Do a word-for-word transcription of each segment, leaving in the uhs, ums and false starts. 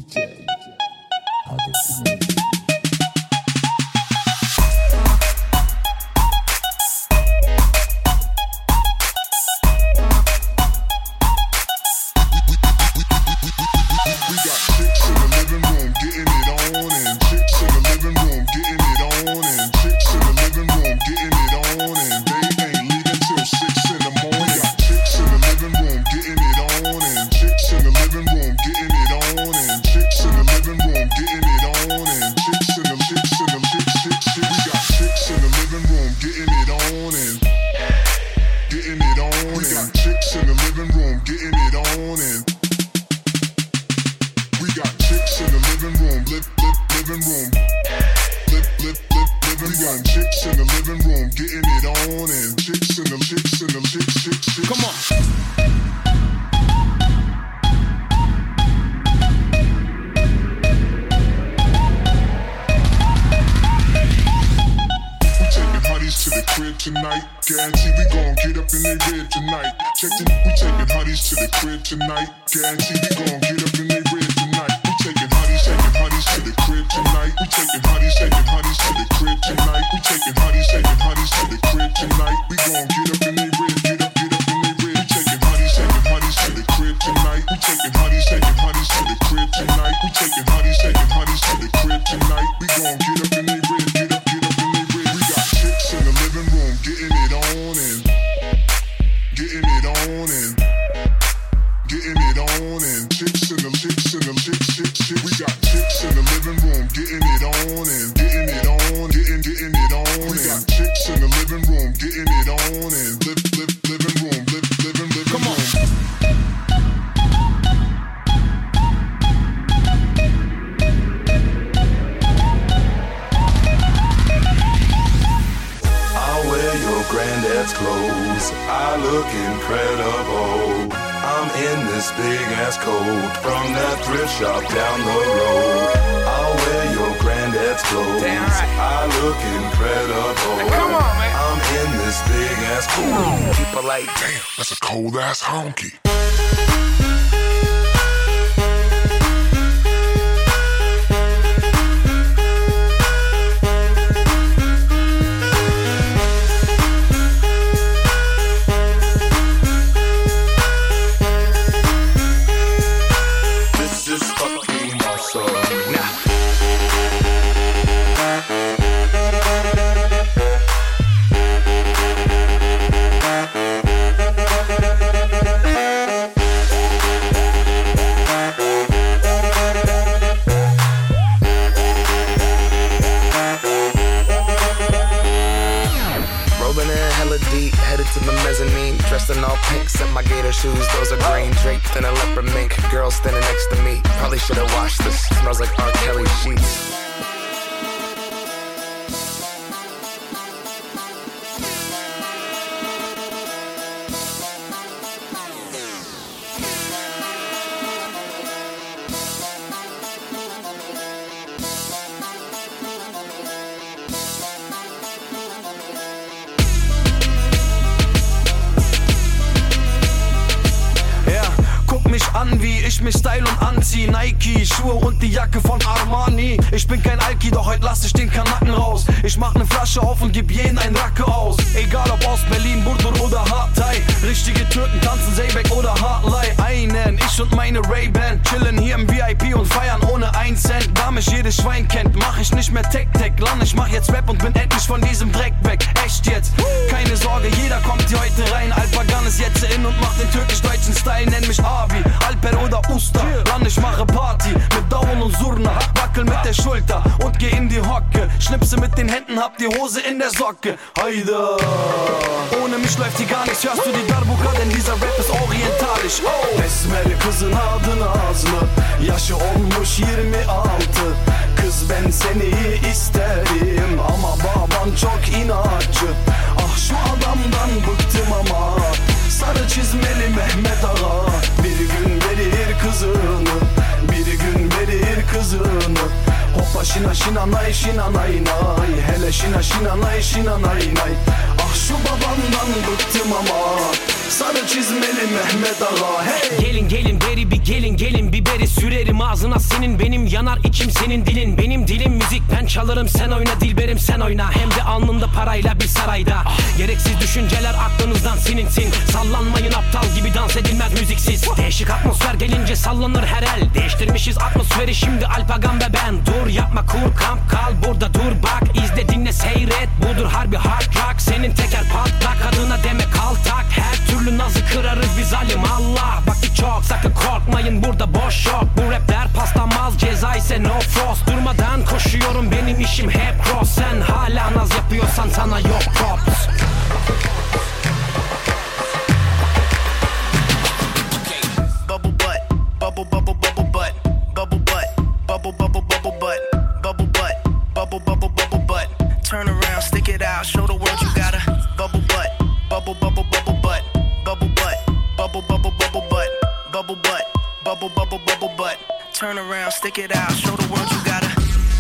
J. Hadi tonight. Guarantee we gon' get up in they rib tonight. Check the, we taking hotties to the crib tonight. Guarantee we gon' get up in they rib tonight. We taking hotties, taking hotties to the crib tonight. We taking hotties, taking hotties to the crib tonight. We taking hotties, taking hotties to the crib tonight. We gon' get up in they rib, get up, get up in they rib. We taking hotties, taking hotties to the crib tonight. We taking hotties, taking hotties to the crib tonight. We taking hotties, taking hotties to the crib tonight. We gon' get up in they rib, get up, get up in they rib. We got chicks in the living room getting it on and getting it on and getting it on and chicks in the chicks in the chicks chicks chicks. We got chicks in the living room getting it on and getting it on, getting getting it on. We got chicks in the living room getting it on and live live living room live living living Come on. room. Granddad's clothes, I look incredible. I'm in this big ass coat from that thrift shop down the road. I'll wear your granddad's clothes. Damn right. I look incredible. Now come on, man. I'm in this big ass coat. People like, damn, that's a cold ass honky. Dressed in all pink, set my gator shoes, those are green, draped in a leopard mink. Girl standing next to me, probably should've washed this. Smells like R. Kelly sheets. Wie ich mich style und anzieh, Nike, Schuhe und die Jacke von Armani. Ich bin kein Alki, doch heute lass ich den Kanaken raus. Ich mach ne Flasche auf und geb jeden ein Racke aus. Egal ob aus Berlin, Burdur oder Hatay. Richtige Türken tanzen Zeybek oder Hartley. Einen, ich und meine Ray-Ban chillen hier im V I P und feiern ohne ein Cent. Da mich jedes Schwein kennt, mach ich nicht mehr Tech-Tech. Lang, ich mach jetzt Rap und bin endlich von diesem Dreck weg. Echt jetzt, keine Sorge, jeder kommt hier heute rein. Alpagan ist jetzt in und macht den türkisch-deutschen Style. Nenn mich Abi, Alper oder Usta. Dann ich mache Party mit Daumen und Surna. Wackel mit der Schulter und geh in die Hocke. Schnipse mit den Händen, hab die Hose in der Socke. Hayda. Ohne mich läuft hier gar nichts. Hörst du die Darbuka, denn dieser Rap ist orientalisch. Oh. Esmer kızın adı Nazlı, yaşı olmuş yirmi altı. Kız ben seni isterim ama baban çok inatçı. Ah şu adamdan bıktım ama. Sarı çizmeli Mehmet Ağa bir gün verir kızını, bir gün verir kızını. Hoppa şina şina nay şina nay nay, hele şina şina nay şina nay nay. Ah şu babandan bıktım ama. Sarı çizmeli Mehmet Ağa hey. Gelin gelin ileri bir gelin gelin, biberi sürerim ağzına senin, benim yanar içim senin dilin. Benim dilim müzik, ben çalarım sen oyna, dilberim sen oyna, hem de alnımda parayla bir sarayda. Gereksiz düşünceler aklınızdan silinsin, sallanmayın aptal gibi, dans edilmez müziksiz. Değişik atmosfer gelince sallanır her el, değiştirmişiz atmosferi şimdi Alpagan ve ben. Dur yapma, kur kamp, kal burada, dur bak, izle dinle seyret, budur harbi hard rock. Senin teker patlak, kadına deme kaltak, her türlü nazı kırarız biz alim Allah. Vakit çok, sakın korkmayın burada boş yok, bu rapler paslanmaz, ceza ise no frost. Durmadan koşuyorum, benim işim hep cross, sen hala naz yapıyorsan sana yok props. Bubble butt, bubble bubble bubble butt, bubble butt, bubble bubble bubble butt, bubble butt, bubble bubble bubble butt. Turn around, stick it out, show the world you got a bubble butt, bubble bubble bubble butt, bubble butt, bubble bubble bubble butt, bubble butt, bubble bubble bubble butt. Turn around, stick it out, show the world you got a.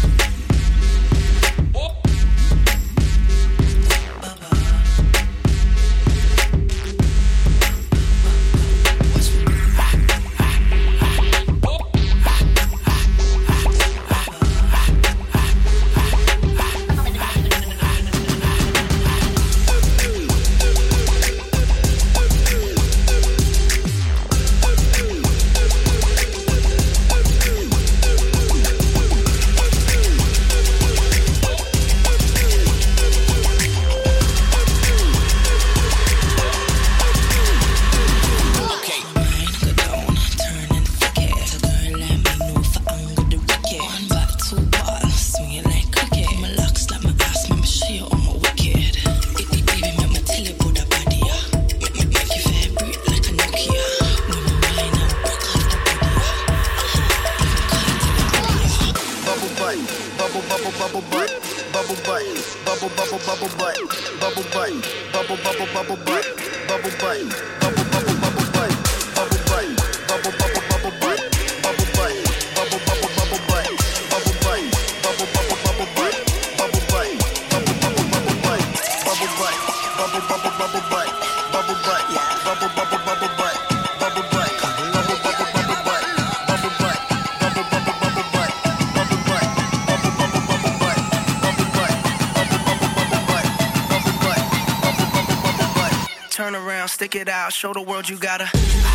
Turn around, stick it out, show the world you got a.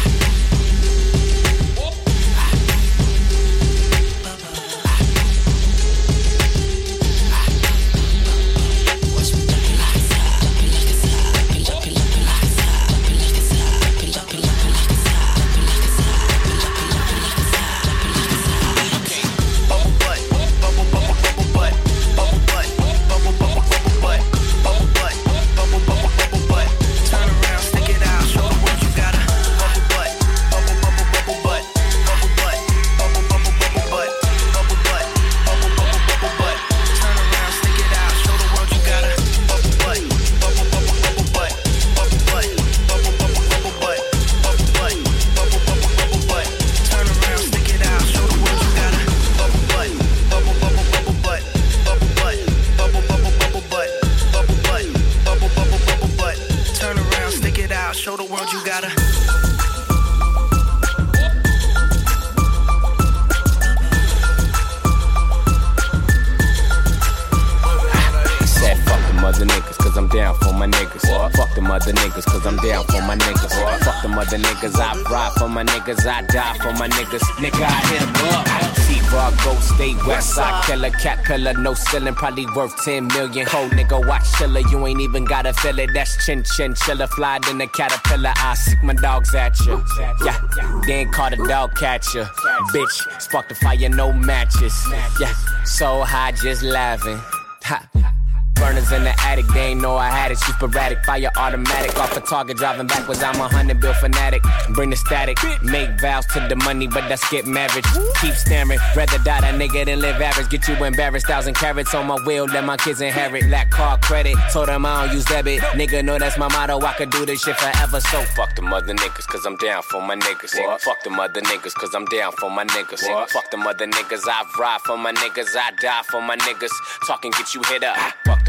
I die for my niggas, nigga, I hit em up. T-Bar, Ghost State, Westside Killer, Cat Pillar, no ceiling, probably worth ten million. Cold nigga, watch chiller, you ain't even gotta feel it. That's chin chin chiller, fly in the caterpillar. I sick my dogs at you. Yeah, they ain't caught a dog catcher. Bitch, spark the fire, no matches. Yeah, so high, just laughing. Ha. Burners in the attic, they ain't know I had it. Shoot sporadic, fire automatic. Off a target, driving backwards, I'm a hundred bill fanatic. Bring the static, make vows to the money, but that's get married. Keep staring, rather die that nigga than live average. Get you embarrassed, thousand carats on my wheel, let my kids inherit. Lack card credit, told them I don't use debit. Nigga know that's my motto, I could do this shit forever. So fuck them other niggas, cause I'm down for my niggas. What? Fuck them other niggas, cause I'm down for my niggas. What? Fuck them other niggas, I ride for my niggas, I die for my niggas. Talking get you hit up. Fuck them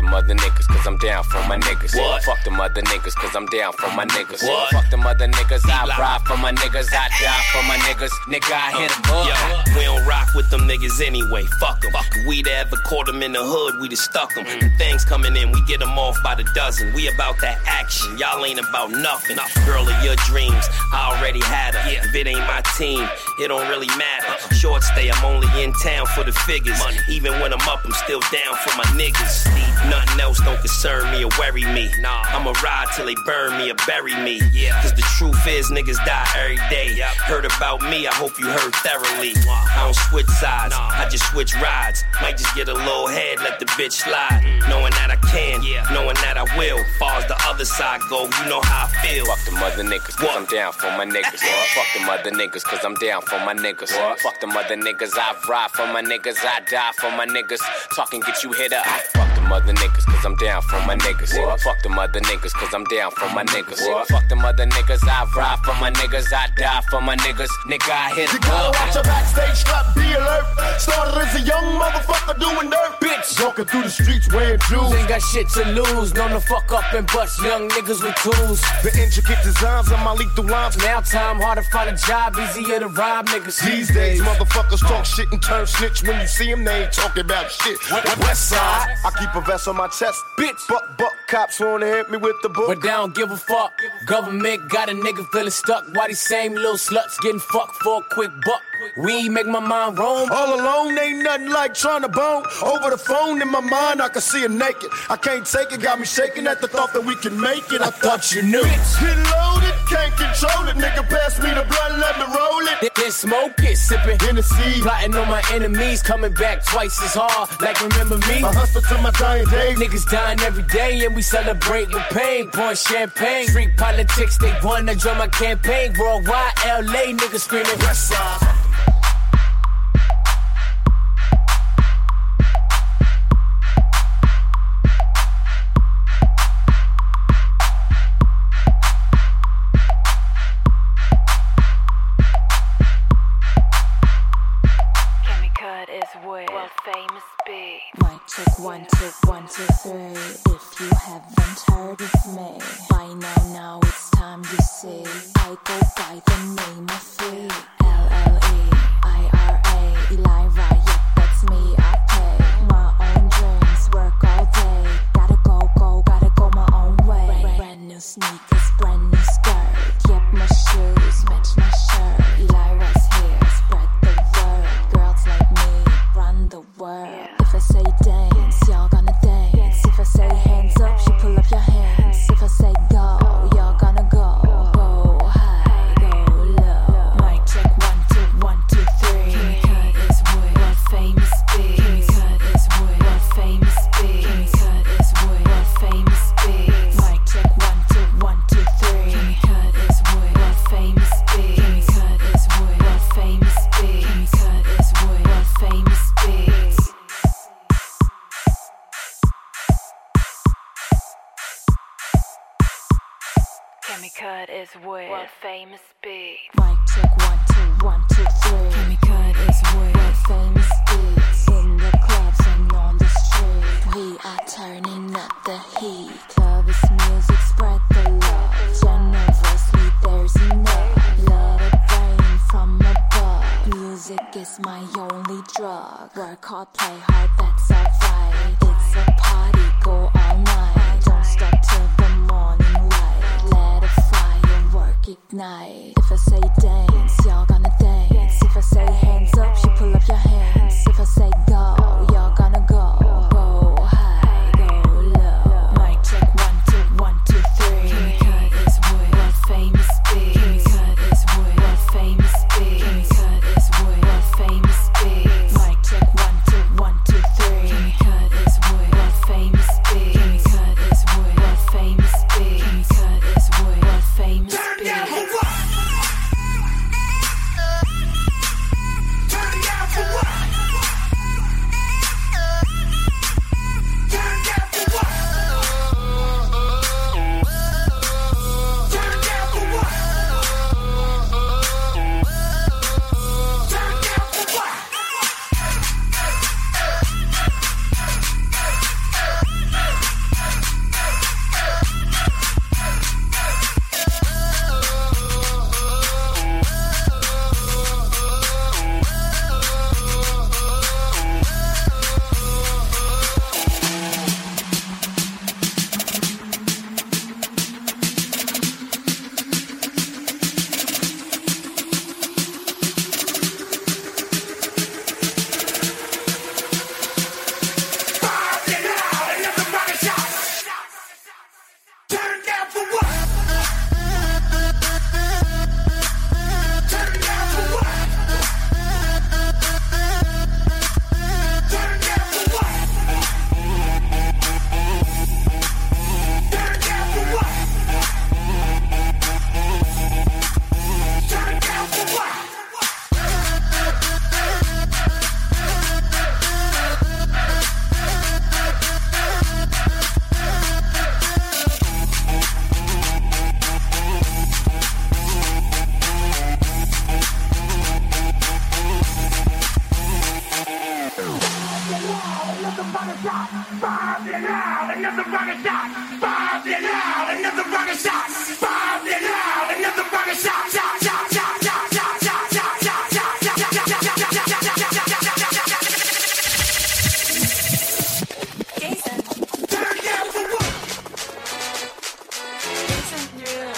them other niggas, cause I'm down for my niggas. What? Fuck them other niggas, cause I'm down for my niggas. What? Fuck them other niggas, I ride for my niggas, I die for my niggas. Nigga, I hit them up. Yo, we don't rock with them niggas anyway, fuck them. We to ever caught them in the hood, we to stuck them. Mm. Things coming in, we get them off by the dozen. We about that action, y'all ain't about nothing. Girl of your dreams, I already had her. Yeah. If it ain't my team, it don't really matter. Uh-uh. Short stay, I'm only in town for the figures. Money. Even when I'm up, I'm still down for my niggas. Nothing else don't concern me or worry me. Nah, I'ma ride till they burn me or bury me. Yeah. Cause the truth is, niggas die every day. Yep. Heard about me, I hope you heard thoroughly. I don't switch sides, nah. I just switch rides. Might just get a little head, let the bitch slide. Mm. Knowing that I can, yeah. Knowing that I will. Far as the other side go, you know how I feel. Fuck them other niggas, cause what? I'm down for my niggas. What? Fuck them other niggas, cause I'm down for my niggas. What? Fuck them other niggas, I ride for my niggas, I die for my niggas. Talking get you hit up. Fuck them other niggas, cause I'm down for my niggas. What? Fuck them other niggas, cause I'm down for my niggas. What? Fuck them other niggas, I ride for my niggas, I die for my niggas. Nigga, I hit you gotta watch your backstage strap, be alert. Started as a young motherfucker doing dirt. Bitch, walking through the streets wearing jewels. Ain't got shit to lose, known to fuck up and bust young niggas with tools. The intricate designs of my lethal lines. Now time, hard to find a job, easier to rob niggas. These days, motherfuckers talk shit and turn snitch. When you see them, they ain't talking about shit. West side, I keep a vest on my chest. Bitch, buck, buck, cops wanna hit me with the book. But they don't give a fuck. Government got a nigga feeling stuck. Why these same little sluts getting fucked for a quick buck? We make my mind roam. All alone, ain't nothing like trying to bone. Over the phone, in my mind, I can see her naked. I can't take it, got me shaking at the thought that we can make it. I thought you knew. Bitch, get loaded, can't control it. Nigga, pass me the blunt, let me roll it. Then smoke it, sipping Hennessy. Plotting on my enemies, coming back twice as hard. Like remember me? I hustle to my dying day. Niggas dying every day and we celebrate with pain. Pouring champagne, street politics, they wanna join my campaign. Worldwide, L A niggas screaming West Side. Mic check one, check one, two, three. If you haven't heard of me by now, now it's time you see. I go by the name of Free. L L E I R A Eli Riot, that's me, I pay my own dreams, work all day. Gotta go, go, gotta go my own way. Brand new sneakers, brand new skirt. Yep, my shoes match my shirt. Elira's here, spread the word. Girls like me run the world. If I say dance, y'all gonna dance. If I say hands up, you pull up your hands. If I say go, y'all gonna go. Go high, go low. Mic check one, two, one, two, three. Kimmy Cut is wood, world famous big. Kimmy Cut is wood, world famous big. Kimmy Cut is wood, world famous big. Mic check one, two, one, two, three. Kimmy Cut is wood, world famous big. Kimmy Cut is wood, world famous big. Kimmy Cut is wood, world famous big. Kimmy Cut is wood, world famous big. Mic check one, two, one, two, three. Kimmy Cut is wood, world famous big. In the clubs and on the street, we are turning up the heat. Love is music, spread the love. Generously, there's enough. Let it rain from above. Music is my only drug. Work hard, play hard, that's alright. It's a party, go all night. Don't stop till the morning light. Let a firework ignite. If I say dance, y'all gonna dance. If I say hands up, you pull up your hands. If I say go, y'all gonna go. Go high, go low. Mic check one, two, one, two, three. Kimmy Cut is wood, world famous big. Kimmy Cut is wood, world famous big. Kimmy Cut is wood, world famous big. Mic check one, two, one, two, three. Kimmy Cut is wood, world famous big. Kimmy Cut is wood, world famous big. Kimmy Cut is wood, world famous big. Turn it down for what? another rocket shot. Bombed it out, another rocket shot. Bombed it out, another rocket shot. Shot, shot, shot, shot, shot, shot, shot, shot, shot, shot, shot, shot, shot, Jason. Turn down for what? Jason, yeah.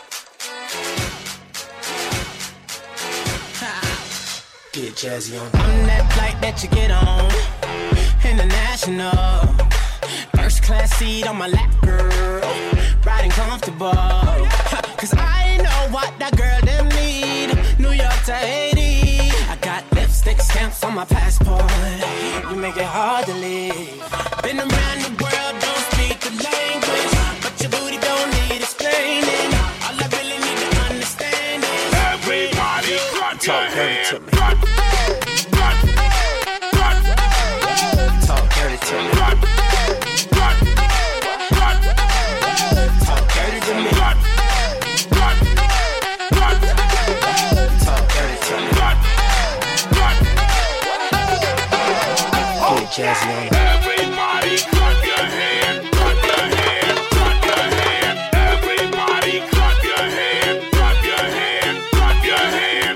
Get jazzy on. I'm that flight that you get on. International. First class seat on my lap, girl. Riding comfortable. Cause I know what that girl them need. New York to Haiti. I got lipstick stamps on my passport. You make it hard to leave. Been around the world, don't speak the language. But your booty don't need explaining. All I really need to understand is everybody clap your hands. Talk dirty to me. Talk dirty to me. Talk dirty to me. Get jazzy on. Everybody clap your hand, clap your hand, clap your hand. Everybody clap your hand, clap your hand, clap your hand.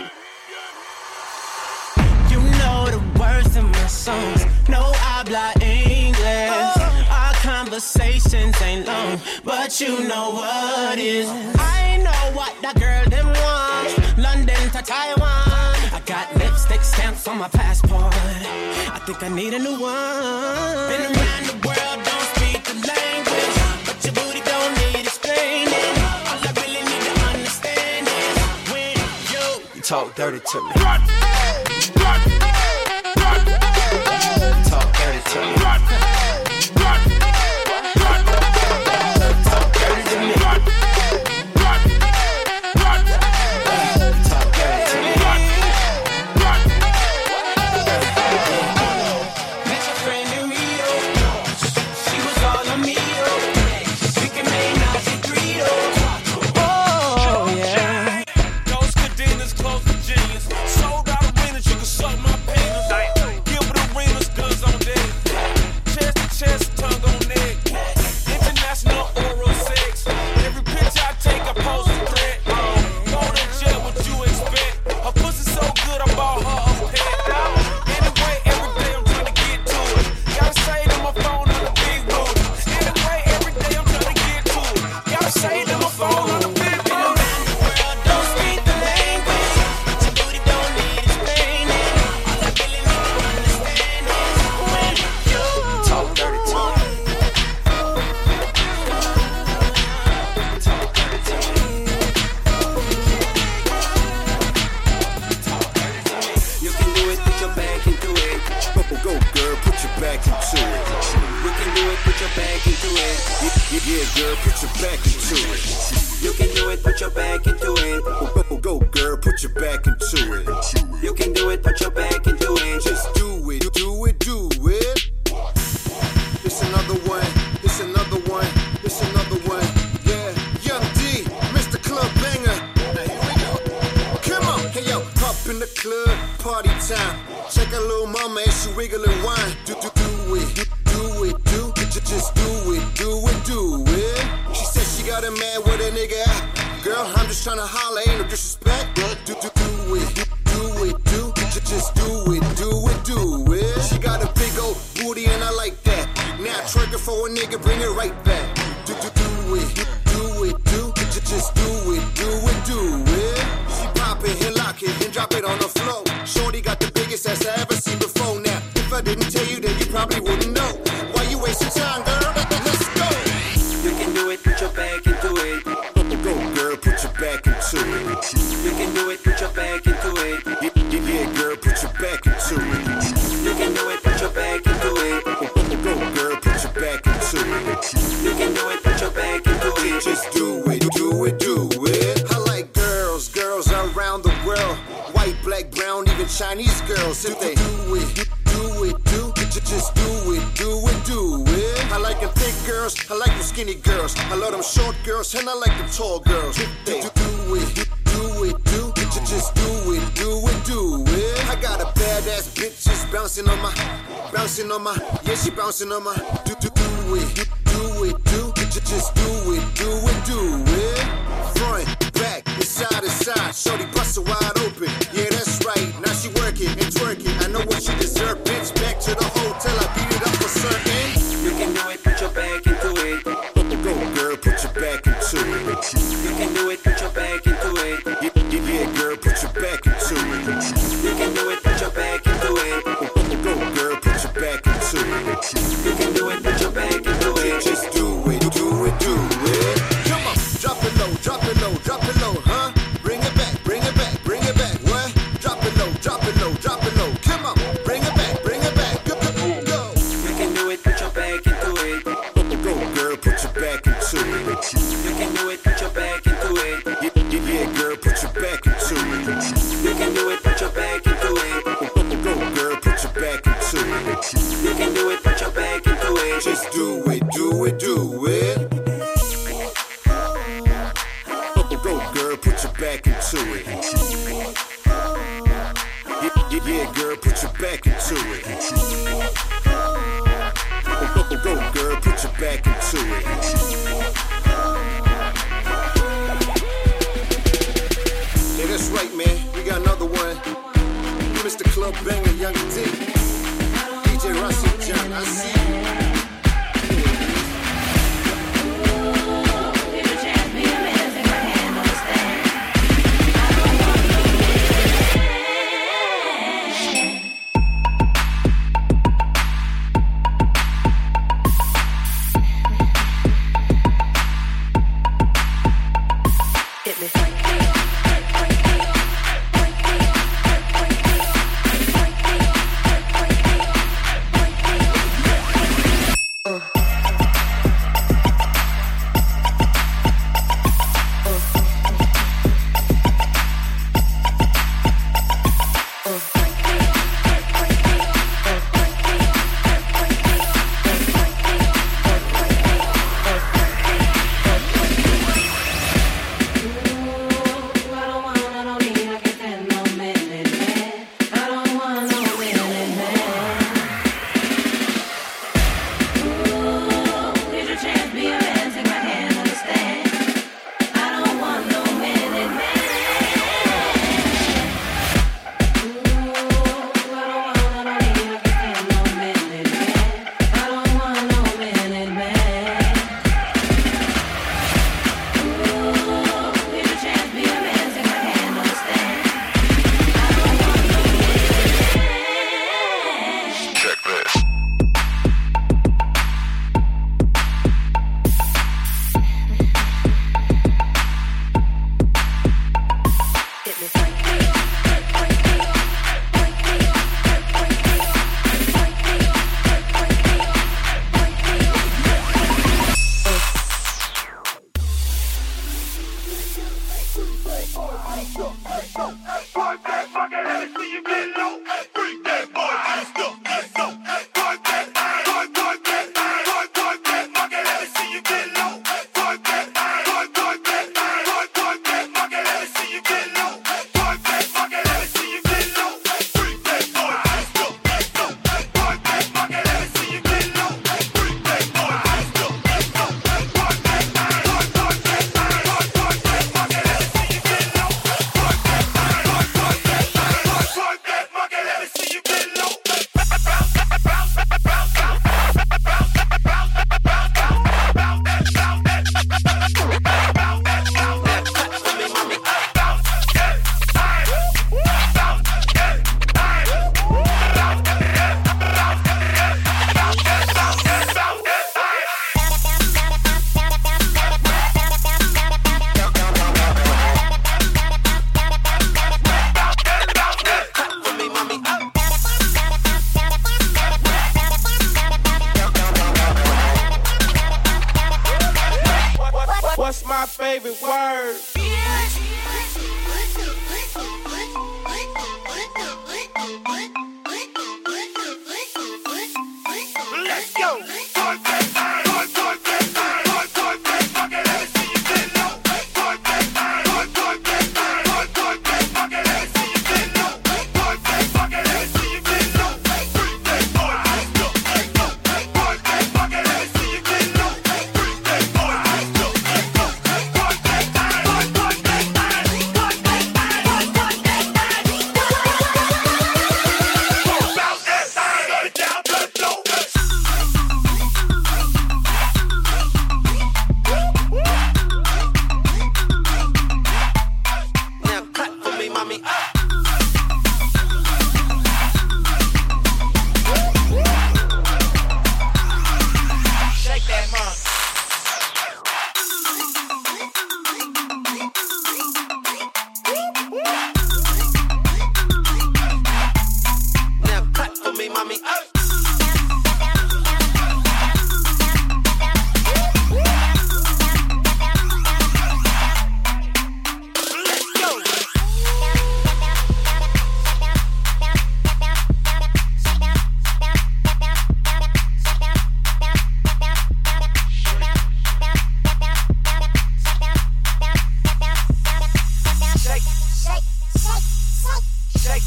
You know the words in my songs. No habla English. Our conversations ain't long, but you know what is. I know what that girl them want. London to Taiwan. I got lipstick stamps on my passport. I think I need a new one. Been around the world, don't speak the language, but your booty don't need explaining. All I really need to understand is when you, you talk dirty to me. Talk dirty to me. Talk dirty to me. Talk dirty to me. Met your friend in Rio. She was all on me. We can make Nazi Greedo. Oh yeah. Those cadenas close to genius. Sold out arenas, you can suck my penis. Gilbert Arenas, guns on deck. Chest to chest, tongue on neck. International oral sex. Every picture I take, I pose a threat. Go to jail, what you expect? Her pussy so good, I bought her a pet. Anyway, every day I'm trying to get to it. Gotta say to my phone on the big booty. Anyway, every day I'm trying to get to it. Gotta say to my phone on the big booty. Don't speak the language, but your booty don't need explaining. All I really need to understand is when you talk dirty to me. Talk dirty to me. You can do it, put your back into it. Go, go, girl, put your back into it. You can do it, put your back into it. Yeah, yeah, girl, put your back into it. You can do it, put your back into it. Go, go, go, girl, put your back into it. You can do it, put your back into it. Just do it, do it, do it. It's another one, it's another one, it's another one. Yeah, Young D, Mister Club Banger. Now here we go. Come on, hey yo, up in the club, party time. Check a little mama as she wiggle and whine. Do do do it, do do it, do just just do it, do it, do it. She said she got a man with a nigga out. Girl, I'm just tryna holler, ain't no disrespect. Do do do it, do it, do just just do it, do it, do it. She got a big old booty and I like that. Now trigger for a nigga, bring it right back. Do do do it, do it, do just just do it, do it, do it. She pop it and lock it and drop it on the floor. Shorty got the biggest ass I ever seen before. Now, if I didn't tell you, then you probably wouldn't know. Why you wasting time, girl? Let's go. You can do it, put your back into it. Go, girl, put your back into it. You can do it, put your back into it. Yeah, yeah, yeah, girl, put your back into it. You can do it, put your back into it. Go, girl, put your back into it. You can do it, put your back into it. Just do it, do it, do it. I like girls, girls around the world. White, black, brown, even Chinese girls. If they do it, do it, do it, just do it, do it, do it. I like them thick girls, I like them skinny girls. I love them short girls, and I like them tall girls. If they do it, do it, do it, just do it, do it, do it. I got a badass bitch just bouncing on my, bouncing on my, yeah, she bouncing on my. Do do do it, do it, do, just, just do it, do it, do it. Front, back, inside, inside. Shorty bust her wide open. Yeah, that's right. Now she working and twerking. I know what she deserve, bitch. Back to the hotel. I beat it up for certain. You can do it, put your back into it. Go, girl, put your back into it. You can do it, put your back into it. Yeah, yeah, yeah, girl, put your back into it. You can do it, put your back into it. Go, girl, put your back into it. You can do it, put your back into it. Just do it, do it, do it. Come on, drop it low, drop it low, drop it low, huh? Bring it back, bring it back, bring it back. What? Drop it low, drop it low, drop it low. Come on, bring it back, bring it back. Go, go, go. You can do it, put your back into it. Go, girl, put your back into it. You can do it, put your back into it. Yeah, yeah, yeah, girl, put your back into it. You can do it, put your back into it. Go, girl, put your back into it. You can do it, put your back into it. Just do it, do it, do it. Go, girl, put your back into it. Yeah, yeah, yeah, girl, put your back into it. Go, girl, put your back into it. Yeah, that's right, man. We got another one. Mister Club Banger, Young D. D J Russell John, I see you.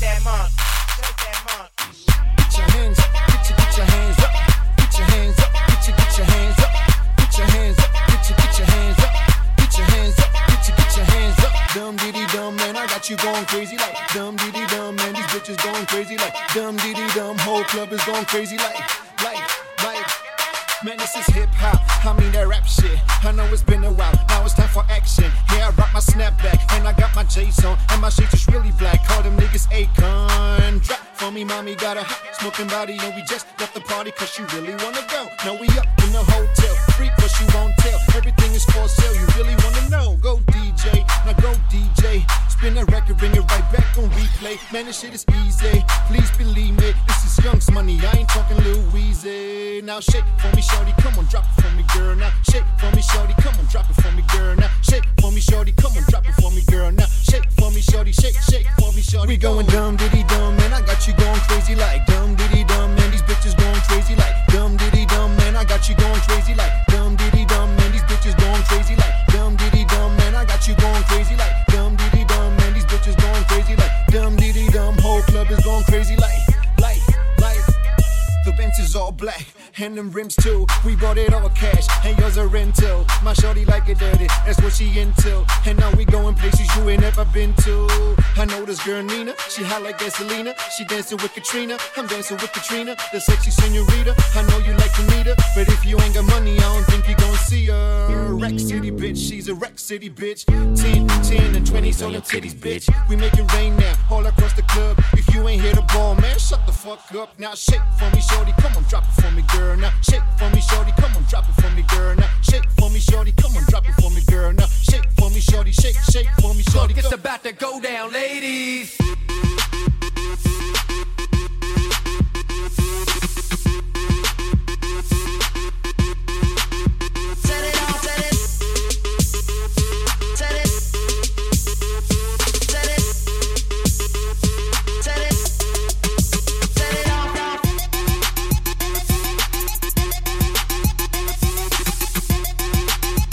that monk. Shake that monk. Get your hands up, get your, get your hands up. Get your hands up, get your, get your hands up. Get your hands up, get your, get your hands up. Get your hands up, get your, get your hands up. Dum diddy dum, man, I got you going crazy like dum diddy dum, man. These bitches going crazy like dum diddy dum. Whole club is going crazy like, like, like. Man, this is hip hop. I mean that rap shit. I know it's been a while. Now it's time for action. Yeah, I rock my snapback and I got my J's on and my shades is really black. Call them niggas Akon. Drop for me, mommy got a hot smoking body and we just left the party 'cause she really wanna go. Now we up in the hotel, freak but she won't tell. Everything is for sale. You really wanna know? Go D J, now go D J. Spin that record, bring it right back on replay. Man, this shit is easy. Please believe me, this is Young's money. I ain't talking Lil Weezy. Now shake for me, shorty, come on, drop it for me, girl. Now shake for me, shorty, come on, drop it for me, girl. Now shake for me, shorty, come on, drop it for me, girl. Now shake for me, shorty, shake, shake for me, shorty. We going dumb diddy dumb, man. I got you going crazy like dumb diddy dumb, man. These bitches going crazy like dumb diddy dumb, man. I got you going crazy like dumb diddy dumb, man. These bitches going crazy like dumb diddy dumb, man. I got you going crazy like dumb diddy dumb, man. These bitches going crazy like dumb diddy dumb. Whole club is going crazy like, like, like. The Benz is all black. And them rims too, we bought it all cash, and yours are rental. My shorty like it dirty, that's what she into. And now we going places you ain't never been to. I know this girl Nina, she hot like gasolina. She dancing with Katrina, I'm dancing with Katrina, the sexy senorita. I know you like to meet her, but if you ain't got money, I don't think you gon' see her. Wreck City bitch, she's a Wreck City bitch. ten, ten, and twenty, so them titties bitch. We make it rain now, all across the club. If you ain't here to ball, man, shut the fuck up. Now shake for me, shorty, come on, drop it for me, girl. Now shake for me, shorty, come on, drop it for me, girl. Now shake for me, shorty, come on, drop it for me, girl. Now shake for me, shorty, shake, shake for me, shorty. Look, it's about to go down, ladies.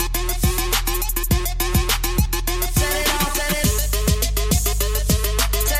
Set it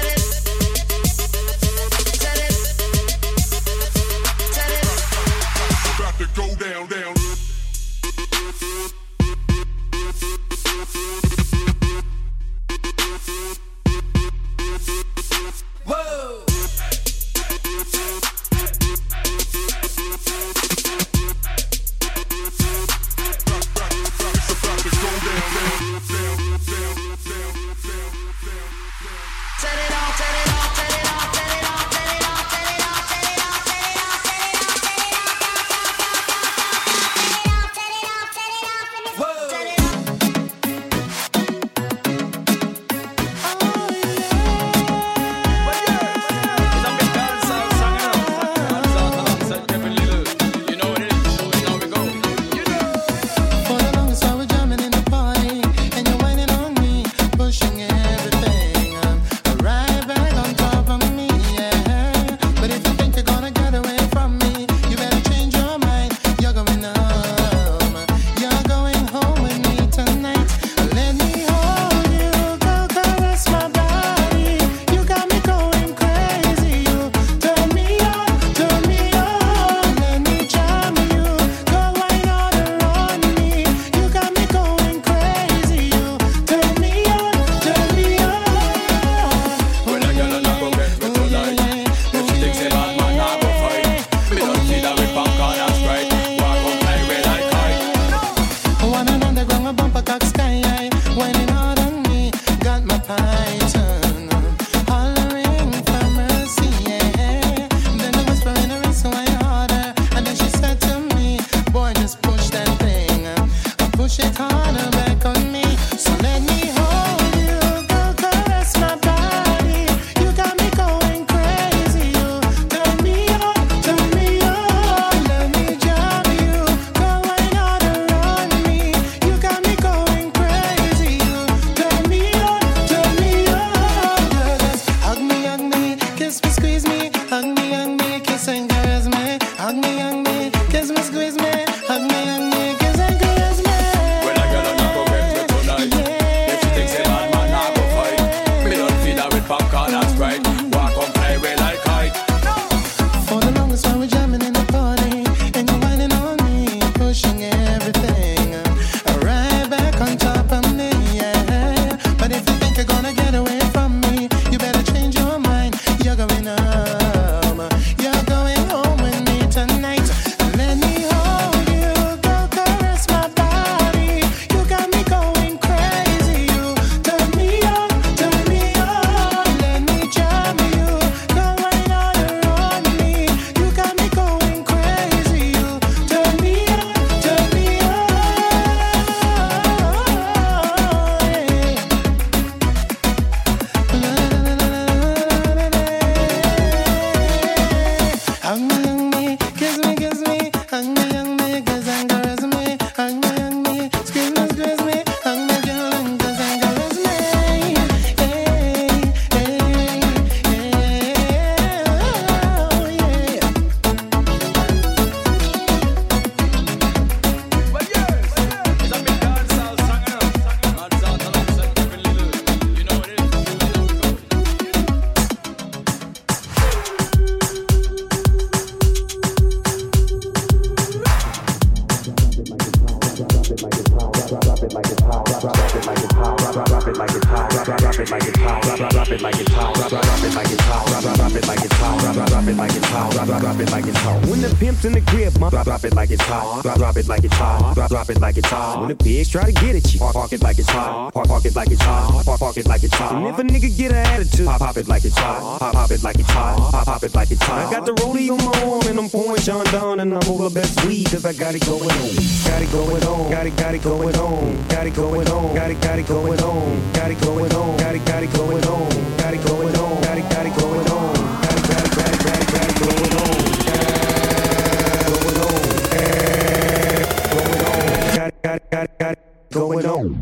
drop it like it's hot, drop drop it like it's hot, drop drop it like it's hot, drop drop it like it's hot, drop drop it like it's hot, drop drop it like it's hot. When the pimp's in the crib, drop drop it like it's hot, drop drop it like it's hot, drop drop it like it's hot. When the pigs try to get at you, park park it like it's hot, park park it like it's hot, park park it like it's hot. And if a nigga get an attitude, pop pop it like it's hot, pop pop it like it's hot, pop pop it like it's hot. I got the rollie on my arm and I'm pouring Sean down and I'm all the best weed 'cause I got it going on, got it going on, got it got it going on, got it going on, got it got it going on, got it going on, got it got it going on, got it going on, got it got it going on, got it got it got it got it got it going on, going on, going on, got it got it got it got it going on.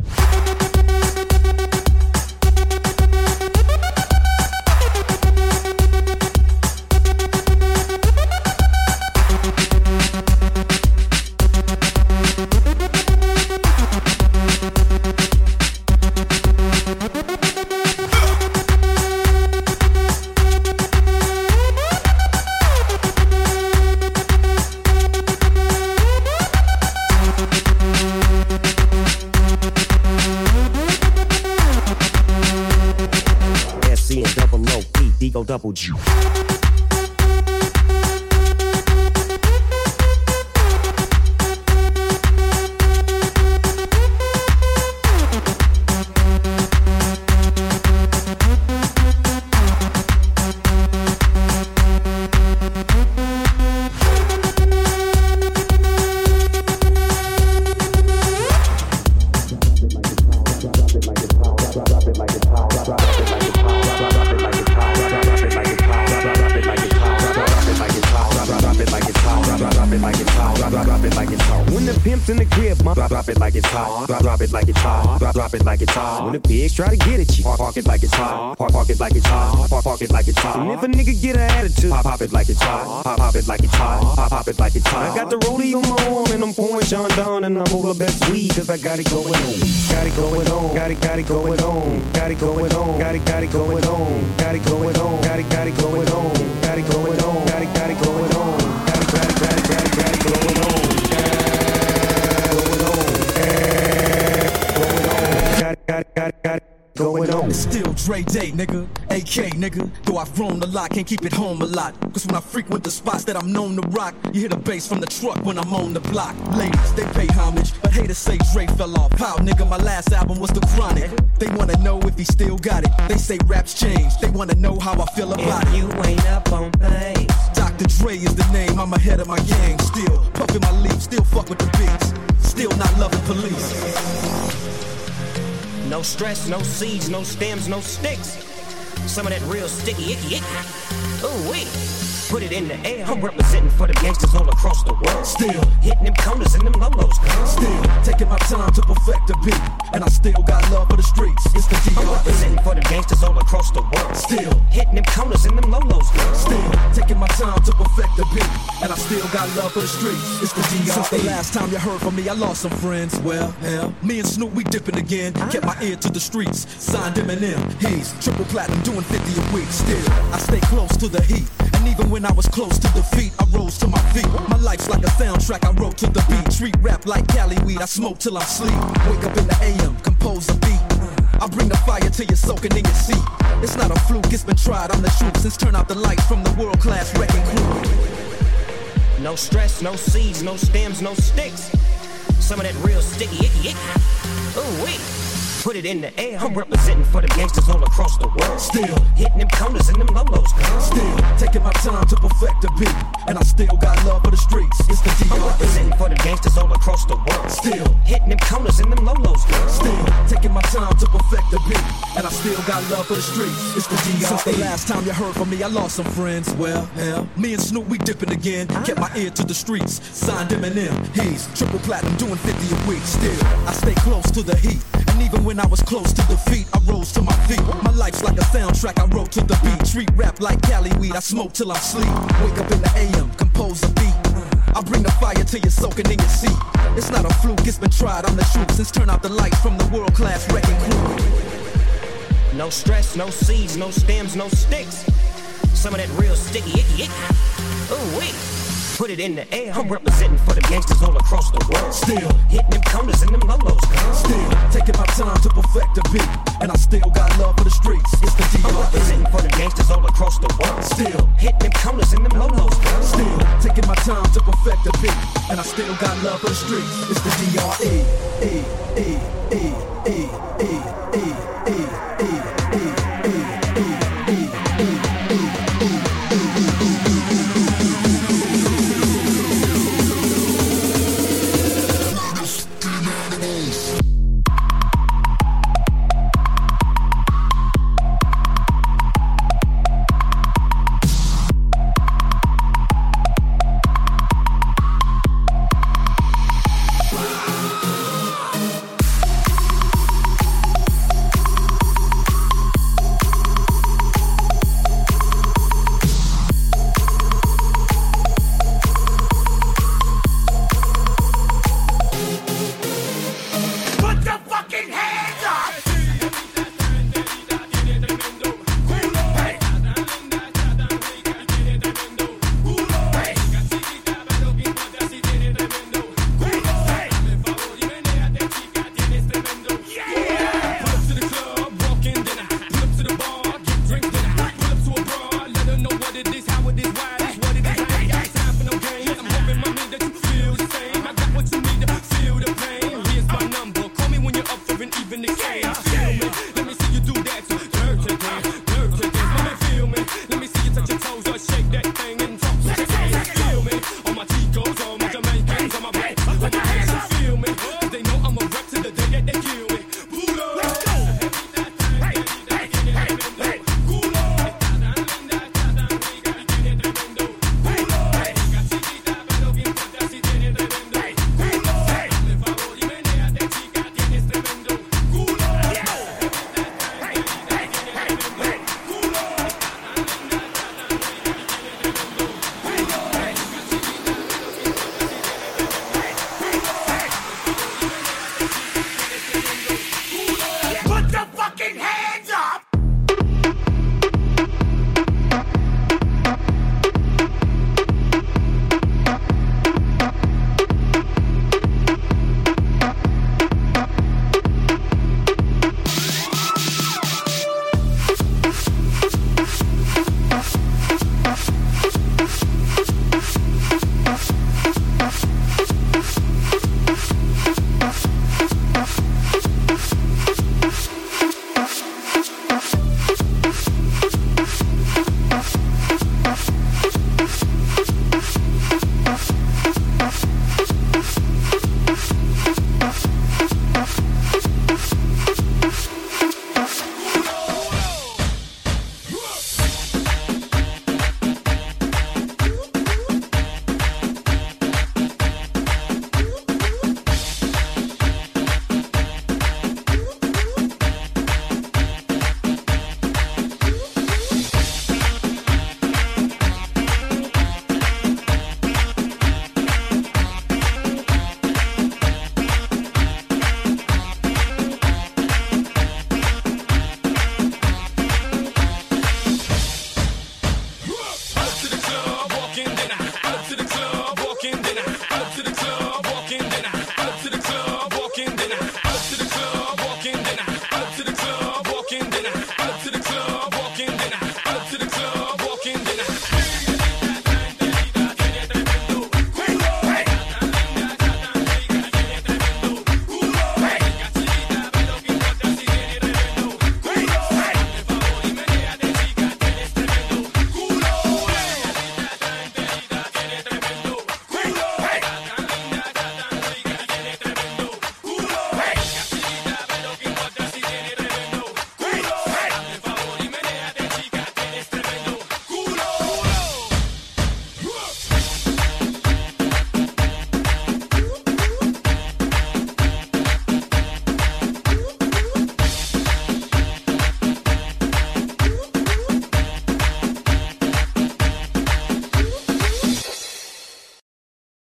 Double G. When the pigs try to get at you, park, park it like it's hot, park, park it like it's hot, park, park it like it's hot. And if a nigga get an attitude, pop, pop it like it's hot, pop, pop it like it's hot, pop, pop it like it's hot. I got the rollie on my arm and I'm pouring Sean down and I'm all the best weed 'cause I got it going on, got it going on, got it got it going on, got it going on, got it got it going on, got it going on, got it got it going on, got it going on, got it got it going on, got it got it got it got it got it going on. Got it, got it, got it, going on. It's still Dre Day, nigga. A K, nigga. Though I've roamed a lot, can't keep it home a lot. Cause when I frequent the spots that I'm known to rock, you hear the bass from the truck when I'm on the block. Ladies, they pay homage, but haters say Dre fell off. How, nigga, my last album was The Chronic. They wanna know if he still got it. They say raps changed. They wanna know how I feel about if it. You ain't up on pace. Doctor Dre is the name, I'm ahead of my gang. Still puffin' my leaf, still fuck with the beats. Still not loving police. No stress, no seeds, no stems, no sticks. Some of that real sticky icky icky. Ooh wee. Put it in the air. I'm representing for the gangsters all across the world. Still hitting them corners and them lolos. Still taking my time to perfect the beat, and I still got love for the streets. It's the D R E. I'm representing for the gangsters all across the world. Still hitting them corners and them lolos. Still taking my time to perfect the beat, and I still got love for the streets. It's the D R E. Since the last time you heard from me, I lost some friends. Well, hell, me and Snoop, we dipping again. Kept my ear to the streets. Signed Eminem. He's triple platinum, doing fifty a week. Still, I stay close to the heat. And even when I was close to defeat, I rose to my feet. My life's like a soundtrack, I wrote to the beat. Street rap like Cali weed, I smoke till I'm sleep. Wake up in the A M, compose a beat. I bring the fire till you're soaking in your seat. It's not a fluke, it's been tried, I'm the truth. Since turn out the lights from the world-class wrecking crew. No stress, no seeds, no stems, no sticks. Some of that real sticky icky icky. Ooh wee. Put it in the air. I'm representing for the gangsters all across the world. Still hitting them corners and them lolos. Still taking my time to perfect the beat, and I still got love for the streets. It's the D R E. I'm representing for the gangsters all across the world. Still hitting them corners and them lolos. Still taking my time to perfect the beat, and I still got love for the streets. It's the D R E. Since the last time you heard from me, I lost some friends. Well, hell, me and Snoop, we dipping again. Kept my ear to the streets. Signed Eminem. He's triple platinum, doing fifty a week. Still, I stay close to the heat. And even when I was close to defeat, I rose to my feet. My life's like a soundtrack, I wrote to the beat. Street rap like Cali weed, I smoke till I'm sleep. Wake up in the A M, compose a beat. I bring the fire till you're soaking in your seat. It's not a fluke, it's been tried, I'm the truth. Since turn out the lights from the world-class wrecking crew. No stress, no seeds, no stems, no sticks. Some of that real sticky icky icky. Ooh wee. Put it in the air. I'm representing for the gangsters all across the world. Still hitting them corners and them lolos. Still taking my time to perfect the beat, and I still got love for the streets. It's the D R E. I'm representing for the gangsters all across the world. Still hitting them corners and them lolos. Still taking my time to perfect the beat, and I still got love for the streets. It's the D R E. E E E E E E E E.